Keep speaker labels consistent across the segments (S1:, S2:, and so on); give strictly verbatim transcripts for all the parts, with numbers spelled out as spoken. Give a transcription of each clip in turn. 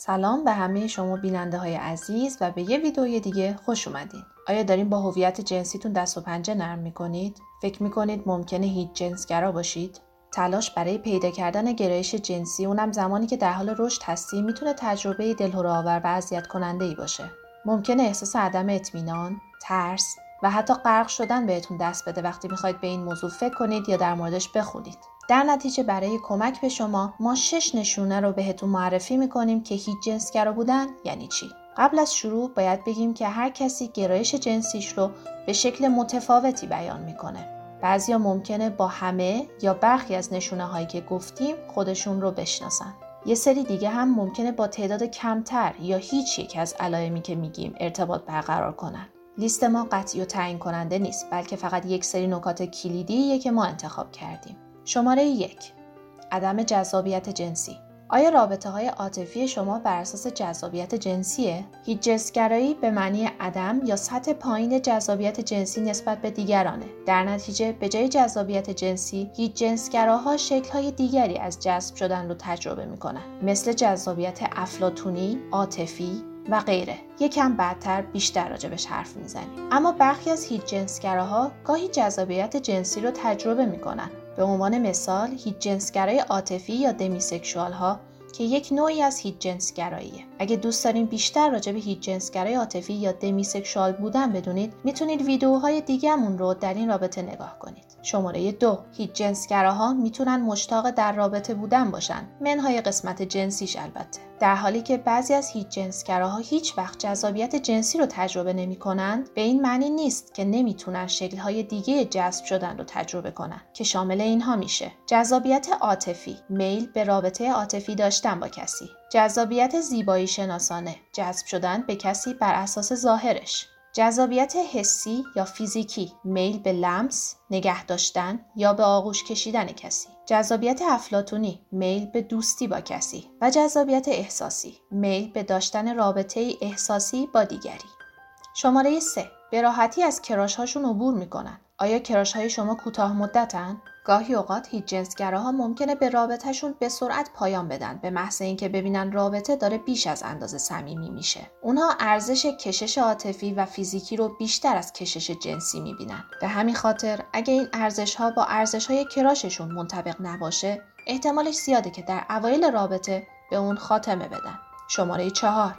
S1: سلام به همه شما بیننده های عزیز و به یه ویدئوی دیگه خوش اومدین. آیا دارین با هویت جنسیتون دست و پنجه نرم میکنید؟ فکر میکنید ممکنه هیچ جنسگرا باشید؟ تلاش برای پیدا کردن گرایش جنسی، اونم زمانی که در حال رشد هستی، میتونه تجربه دلهره‌آور و اذیت کننده‌ای باشه. ممکنه احساس عدم اطمینان، ترس و حتی غرق شدن بهتون دست بده وقتی میخواید به این موضوع فکر کنید یا در موردش بخونید. در نتیجه برای کمک به شما ما شش نشونه رو بهتون معرفی میکنیم که هیچ جنسگرا بودن یعنی چی. قبل از شروع باید بگیم که هر کسی گرایش جنسیش رو به شکل متفاوتی بیان میکنه. بعضیا ممکنه با همه یا برخی از نشونه هایی که گفتیم خودشون رو بشناسن. یه سری دیگه هم ممکنه با تعداد کمتر یا هیچ یک از علائمی که میگیم ارتباط برقرار کنن. لیست ما قطعی و تعیین کننده نیست، بلکه فقط یک سری نکات کلیدیه که ما انتخاب کردیم. شماره یک، عدم جذابیت جنسی. آیا رابطه های عاطفی شما بر اساس جذابیت جنسیه؟ هیچ جنسگرایی به معنی عدم یا سطح پایین جذابیت جنسی نسبت به دیگرانه. در نتیجه به جای جذابیت جنسی، هیچ جنسگراها شکل‌های دیگری از جذب شدن رو تجربه میکنن، مثل جذابیت افلاطونی، عاطفی و غیره. یکم بعدتر بیشتر راجبش حرف میزنیم. اما برخی از هیچ جنسگراها گاهی جذابیت جنسی رو تجربه میکنن. به عنوان مثال هیچ جنسگرای عاطفی یا دمیسکشوال ها که یک نوعی از هیچ جنسگراییه. اگه دوست دارین بیشتر راجع به هیچ جنسگرای عاطفی یا دمیسکشوال بودن بدونید، میتونید ویدیوهای دیگه‌مون رو در این رابطه نگاه کنید. شماره دو، هیچ جنسگراها میتونن مشتاق در رابطه بودن باشن، منهای قسمت جنسیش البته. در حالی که بعضی از هیچ جنسگراها هیچ وقت جذابیت جنسی رو تجربه نمی‌کنند، به این معنی نیست که نمیتونن شکل‌های دیگه جذب شدن رو تجربه کنن که شامل اینها میشه: جذابیت عاطفی، میل به رابطه عاطفی داشتن با کسی; جذابیت زیبایی شناسانه، جذب شدن به کسی بر اساس ظاهرش; جذابیت حسی یا فیزیکی، میل به لمس، نگه داشتن یا به آغوش کشیدن کسی; جذابیت افلاطونی، میل به دوستی با کسی; و جذابیت احساسی، میل به داشتن رابطه احساسی با دیگری. شماره سه، به راحتی از کراش هاشون عبور میکنن. آیا کراش های شما کوتاه مدتن؟ گاهی اوقات هیچ جنسگراها ممکنه به رابطهشون به سرعت پایان بدن به محض اینکه ببینن رابطه داره بیش از اندازه صمیمی میشه. اونها ارزش کشش عاطفی و فیزیکی رو بیشتر از کشش جنسی میبینن. به همین خاطر اگه این ارزش‌ها با ارزش‌های کراششون منطبق نباشه، احتمالش زیاده که در اوایل رابطه به اون خاتمه بدن. شماره چهار،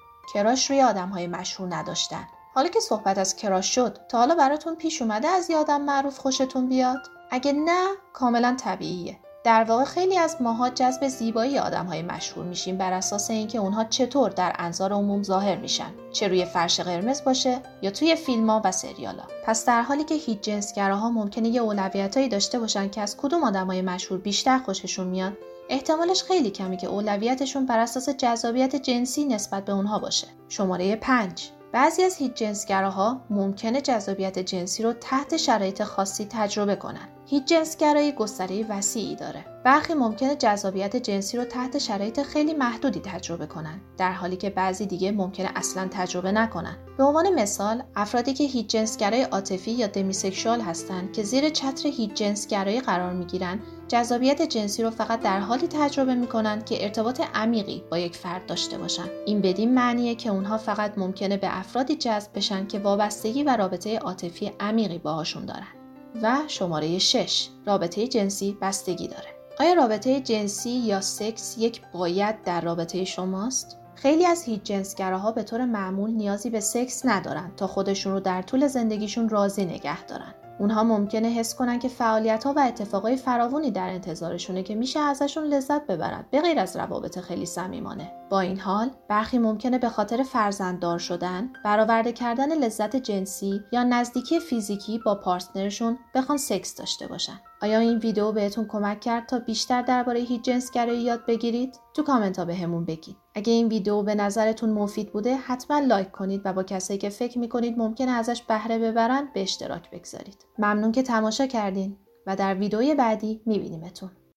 S1: کراش روی آدم‌های مشهور نداشتن. حالا که صحبت از کراش شد، تا حالا براتون پیش اومده از یه آدم معروف خوشتون بیاد؟ اگه نه، کاملا طبیعیه. در واقع خیلی از ماها جذب زیبایی آدم‌های مشهور میشیم بر اساس اینکه اونها چطور در انظار عموم ظاهر میشن، چه روی فرش قرمز باشه یا توی فیلم‌ها و سریال‌ها. پس در حالی که هیچ جنسگراها ممکنه یه اولویتایی داشته باشن که از کدوم آدم‌های مشهور بیشتر خوششون میاد، احتمالش خیلی کمی که اولویتشون بر اساس جذابیت جنسی نسبت به اونها باشه. شماره پنج، بعضی از هیچ جنسگراها ممکنه جذابیت جنسی رو تحت شرایط خاصی تجربه کنن. هیچ جنسگرایی گستره وسیعی داره. برخی ممکنه جذابیت جنسی رو تحت شرایط خیلی محدودی تجربه کنن، در حالی که بعضی دیگه ممکنه اصلاً تجربه نکنن. به عنوان مثال، افرادی که هیچ جنسگرای عاطفی یا دمیسکشوال هستن که زیر چتر هیچ جنسگرایی قرار میگیرن، جذابیت جنسی رو فقط در حالی تجربه میکنن که ارتباط عمیقی با یک فرد داشته باشن. این بدین معنیه که اونها فقط ممکنه به افرادی جذب بشن که وابستگی و رابطه عاطفی عمیقی باهاشون دارن. و شماره شش، رابطه جنسی بستگی داره. آیا رابطه جنسی یا سکس یک باید در رابطه شماست؟ خیلی از هیچ جنسگراها به طور معمول نیازی به سکس ندارن تا خودشون رو در طول زندگیشون راضی نگه دارن. اونها ممکنه حس کنن که فعالیت‌ها و اتفاقای فراوانی در انتظارشونه که میشه ازشون لذت ببرن، به غیر از روابط خیلی صمیمانه. با این حال، برخی ممکنه به خاطر فرزنددار شدن، برآورده کردن لذت جنسی یا نزدیکی فیزیکی با پارتنرشون بخوان سکس داشته باشن. آیا این ویدیو بهتون کمک کرد تا بیشتر درباره هیچ جنسگرایی یاد بگیرید؟ تو کامنت ها بهمون بگید. اگه این ویدیو به نظرتون مفید بوده، حتما لایک کنید و با کسایی که فکر میکنید ممکنه ازش بهره ببرن به اشتراک بگذارید. ممنون که تماشا کردین و در ویدیوی بعدی میبینیمتون.